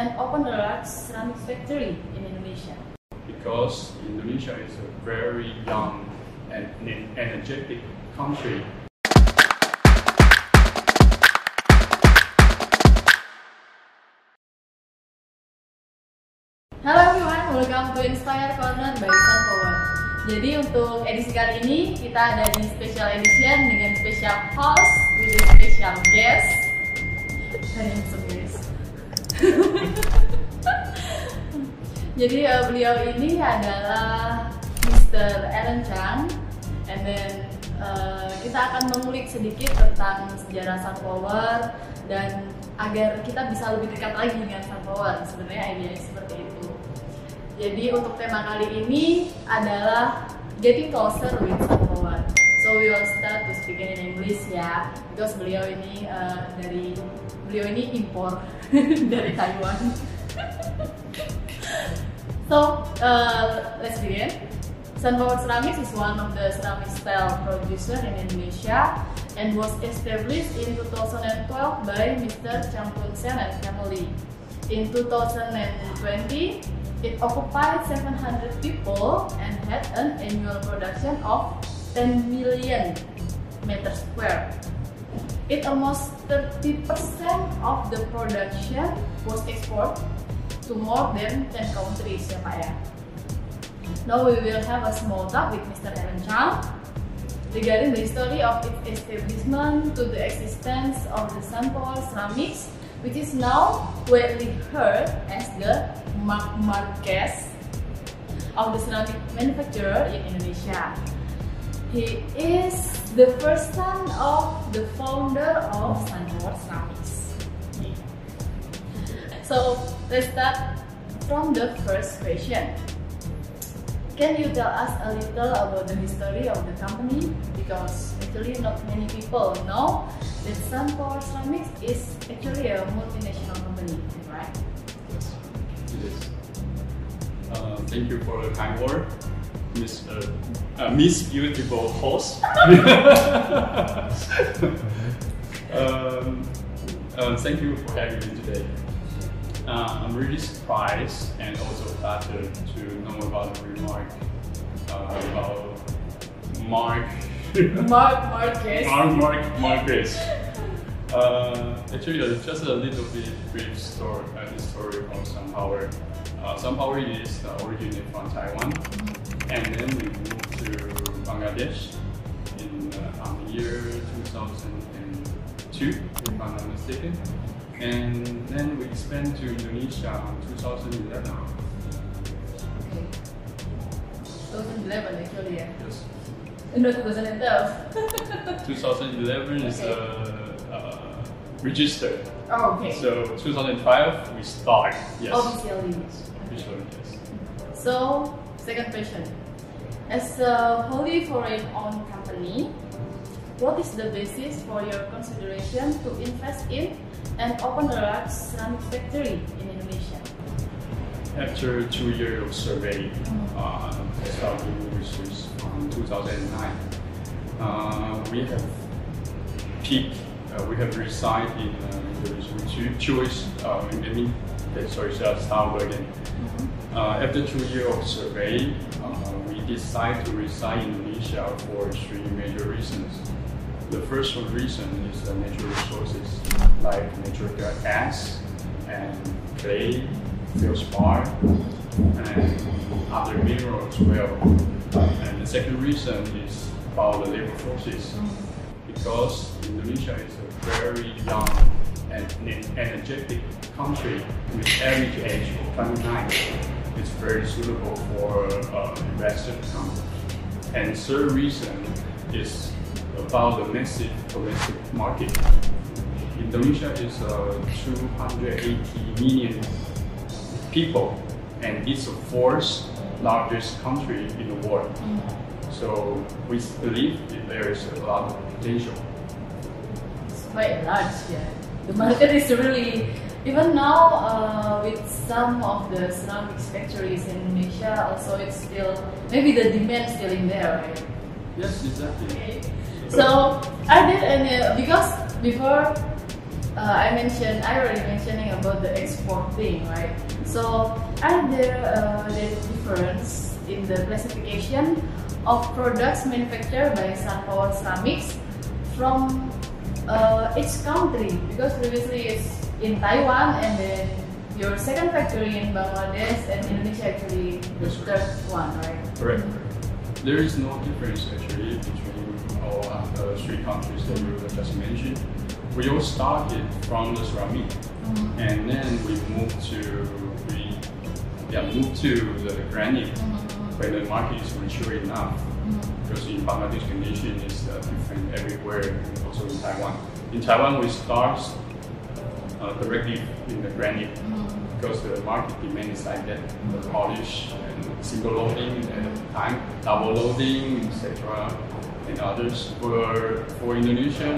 and open a large ceramics factory in Indonesia? Because Indonesia is a very young and energetic country. Halo everyone, welcome to Inspire Corner by Sunpower. Jadi untuk edisi kali ini kita ada di special edition dengan special host with a special guest. Handsome guys. Jadi beliau ini adalah Mr. Aaron Chang, and then kita akan mengulik sedikit tentang sejarah Sunpower dan agar kita bisa lebih dekat lagi dengan Sunpower. Sebenarnya idenya seperti itu. Jadi untuk tema kali ini adalah getting closer with Sunpower. So we will start to speak in English ya, because beliau ini impor dari Taiwan. So let's begin. Sunpower Ceramics is one of the ceramic style producer in Indonesia and was established in 2012 by Mr. Champun Sen and family. In 2020, it occupied 700 people and had an annual production of 10 million meters square. It almost 30% of the production was exported to more than 10 countries ya Pak ya. Now we will have a small talk with Mr. Aaron Chang regarding the history of its establishment to the existence of the Sunpower Ceramics, which is now widely heard as the Mark Marquez of the ceramic manufacturer in Indonesia. He is the first son of the founder of Sunpower Ceramics. So let's start from the first question. Can you tell us a little about the history of the company? Because actually not many people know that Sunpower Ceramics is actually a multinational company, right? Yes, it is. Thank you for the kind word, Miss Beautiful host. Thank you for having me today. I'm really surprised and also flattered to know about the remark about Marquez. Actually, just a little bit brief story of Sunpower. Sunpower is originated from Taiwan, and then we moved to Bangladesh in the year 2002, if I'm not mistaken. And then we expanded to Indonesia in 2011. Okay. 2011 actually, yeah? Yes. No, 2012. 2011 is registered. Oh, okay. So 2012 we start. Yes. Officially. Officially, yes. So, second question. As a wholly foreign-owned company, what is the basis for your consideration to invest in and open a large ceramic factory in Indonesia? After 2 years of survey, starting research from 2009, we have peaked. We have resided in Indonesia. Start again. After 2 years of survey, we decided to reside in Indonesia for 3 major reasons. The first reason is the natural resources like natural gas and clay, feldspar, and other minerals as well. And the second reason is about the labor forces, because Indonesia is a very young and energetic country with average age of 29. It's very suitable for investors to come. And third reason is about the massive domestic market. Indonesia is 280 million people, and it's the fourth largest country in the world. So we believe that there is a lot of potential. It's quite large, yeah. The market is really, even now with some of the ceramics factories in Indonesia, also it's still, maybe the demand still in there, right? Yes, exactly. Okay. So, are there any, because before I already mentioning about the export thing, right? So are there the difference in the classification of products manufactured by Sunpower Ceramics from each country? Because previously it's in Taiwan, and then your second factory in Bangladesh, and Indonesia actually the third one, right? Correct. There is no difference actually between all three countries that you just mentioned. We all started from the ceramic, and then we moved to the granite when the market is mature enough. Because in Bangladesh condition is different everywhere, and also in Taiwan. In Taiwan, we start directly in the granite because the market demand is like that, the polish and single loading at a time, double loading, etc. and others. For Indonesia,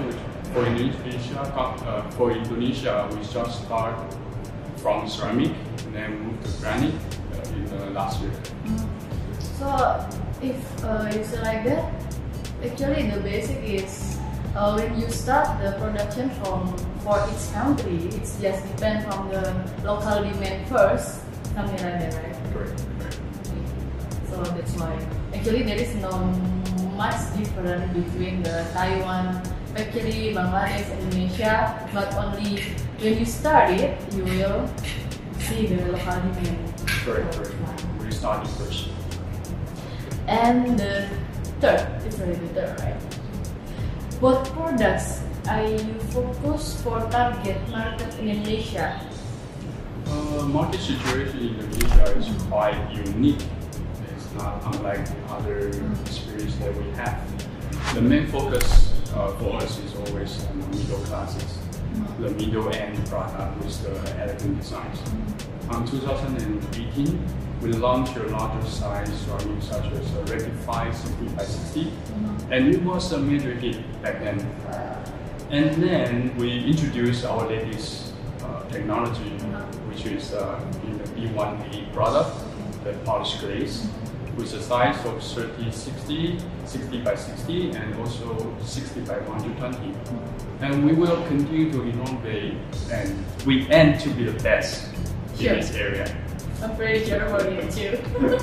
we just start from ceramic and then move to granite in the last year. So if you say like that, actually the basic is when you start the production for each country, it's just depend from the local demand first, something like that, right? Correct. So that's why actually there is no much difference between the Taiwan factory, Bangladesh, Indonesia, but only when you start it, you will see the local demand. Correct. We started first. And the third, it's already the third, right? What products are you focused for target market in Indonesia? Market situation in Indonesia is quite unique. It's not unlike other experience that we have. The main focus for us is always on the middle classes, the middle end product with the elegant designs. In 2018, we launched a larger size ceramic such as a Rectify 60x60, and it was a major hit back then. And then we introduced our latest technology, which is in the B1A product, the polished glaze, with a size of 30-60, 60x60, and also 60x120. And we will continue to innovate, and we aim to be the best in this area. I'm pretty sure about you too.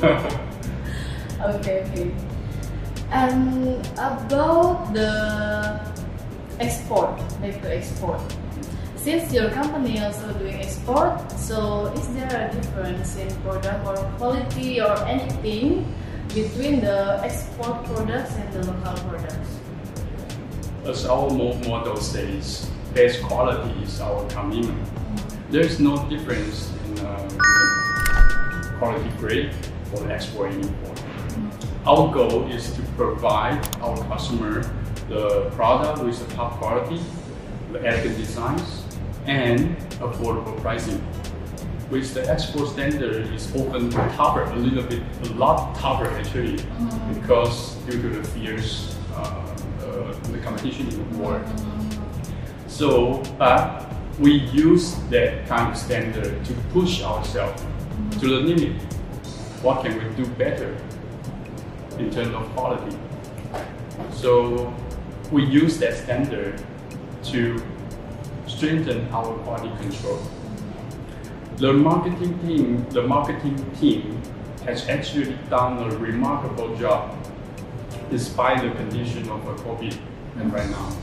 Okay. And about the export, like the export. Since your company also doing export, so is there a difference in product or quality or anything between the export products and the local products? As our motto says, best quality is our commitment. There's no difference in quality grade for export and import. Our goal is to provide our customer the product with the top quality, the elegant designs, and affordable pricing. With the export standard is often tougher, a lot tougher actually, because due to the fierce the competition in the world. So, but we use that kind of standard to push ourselves to the limit. What can we do better in terms of quality? So we use that standard to strengthen our quality control. The marketing team has actually done a remarkable job despite the condition of COVID and right now.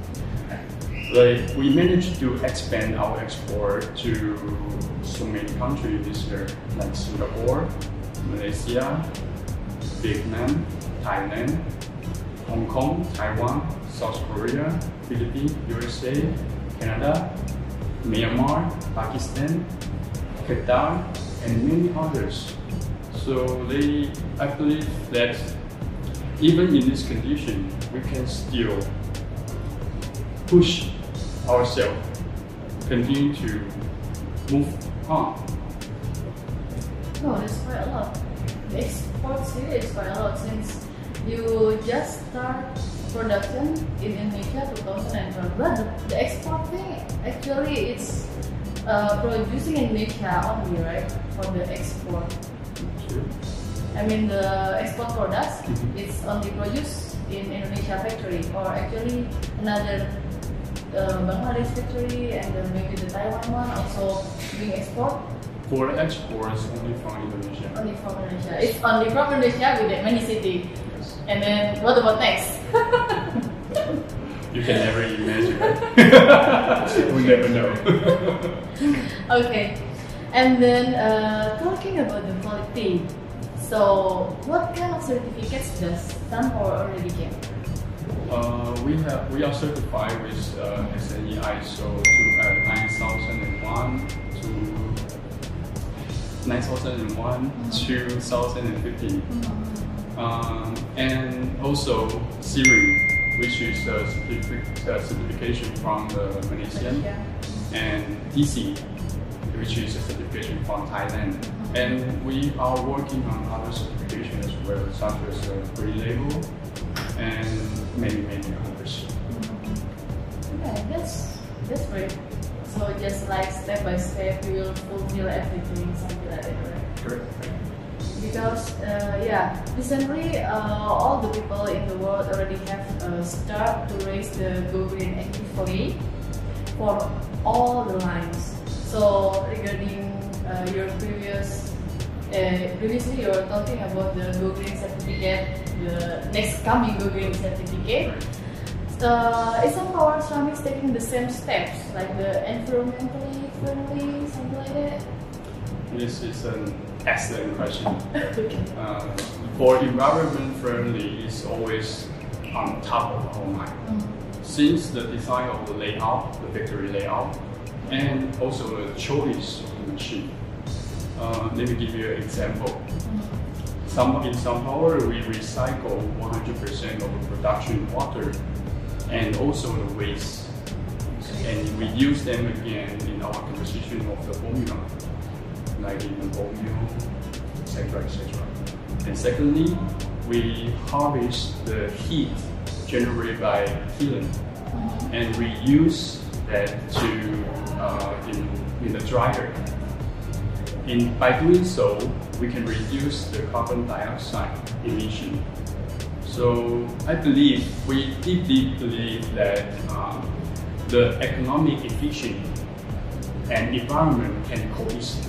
We managed to expand our export to so many countries this year, like Singapore, Malaysia, Vietnam, Thailand, Hong Kong, Taiwan, South Korea, Philippines, USA, Canada, Myanmar, Pakistan, Qatar, and many others. So I believe that even in this condition, we can still push ourselves, continue to move on. No, that's quite a lot. The export here is quite a lot since you just start production in Indonesia 2012. But the export thing, actually it's producing in Indonesia only, right? For the export. Sure. I mean the export products, it's only produced in Indonesia factory, or actually another Bangladesh factory and maybe the Taiwan one also doing export? For exports, only from Indonesia. Only from Indonesia. It's only from Indonesia with that many cities. Yes. And then what about next? You can never imagine. We never know. Okay. And then talking about the quality. So what kind of certificates does SunPower already get? We are certified with SNE ISO 9001 to 2015, and also CIRI, which is a certification from the Malaysian, and TC, which is a certification from Thailand. And we are working on other certifications as well, such as Green Label and many others. Okay, that's great. So just like step by step, you will fulfill everything, something like that, right? Correct. Because recently all the people in the world already have start to raise the Go Green actively for all the lines. So regarding your previously you were talking about the Go Green certificate, the next coming Go Green certificate. Is SunPower Ceramics taking the same steps, like the environmentally friendly, something like that? This is an excellent question. Okay. For environment friendly, is always on top of our mind. Since the design of the layout, the factory layout, and also the choice of the machine. Let me give you an example. In SunPower, we recycle 100% of the production water and also the waste, and we use them again in our composition of the formula, like in the bone meal, etc. And secondly, we harvest the heat generated by kiln and reuse that to in the dryer. By doing so, we can reduce the carbon dioxide emission. So I believe, we deeply believe that the economic efficiency and environment can coexist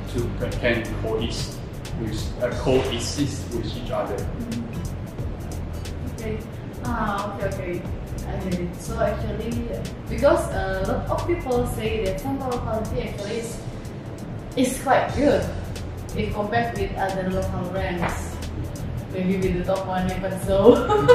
with each other. Okay. Okay. I get it. So actually, because a lot of people say that SunPower quality actually is quite good if compared with other local brands. Maybe with the top one even so.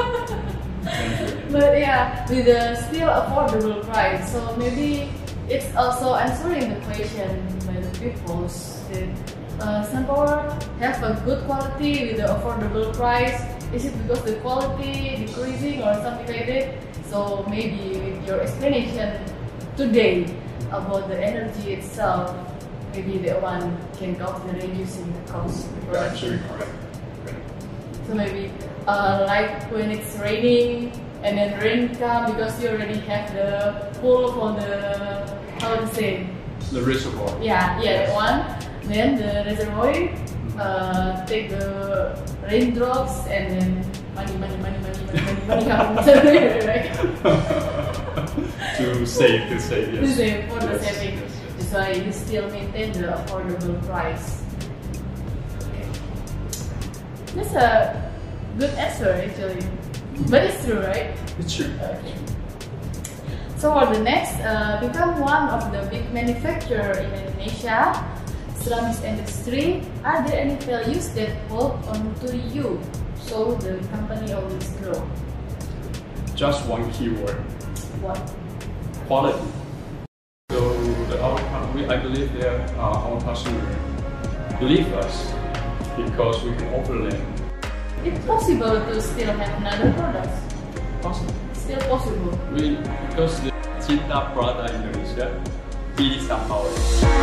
But yeah, with a still affordable price. So maybe it's also answering the question by the people that SunPower have a good quality with the affordable price. Is it because the quality decreasing or something like that? So maybe with your explanation today about the energy itself, maybe that one can help the reducing the cost. Actually, correct. So maybe like when it's raining and then rain come because you already have the pool for the, how to say? The reservoir. Yeah, that one. Then the reservoir take the raindrops and then money comes right? To save, yes. To save for the saving. Yes. That's why you still maintain the affordable price. Okay. That's a good answer actually. But it's true, right? It's true. Okay. So for the next, become one of the big manufacturer in Indonesia, ceramics industry, are there any values that hold on to you so the company always grow? Just one keyword. What? Quality. So I believe that our customer believe us because we can offer them. It's possible to still have another product. Possible. Still possible. Because the Cinta Prada Indonesia, it is SunPower.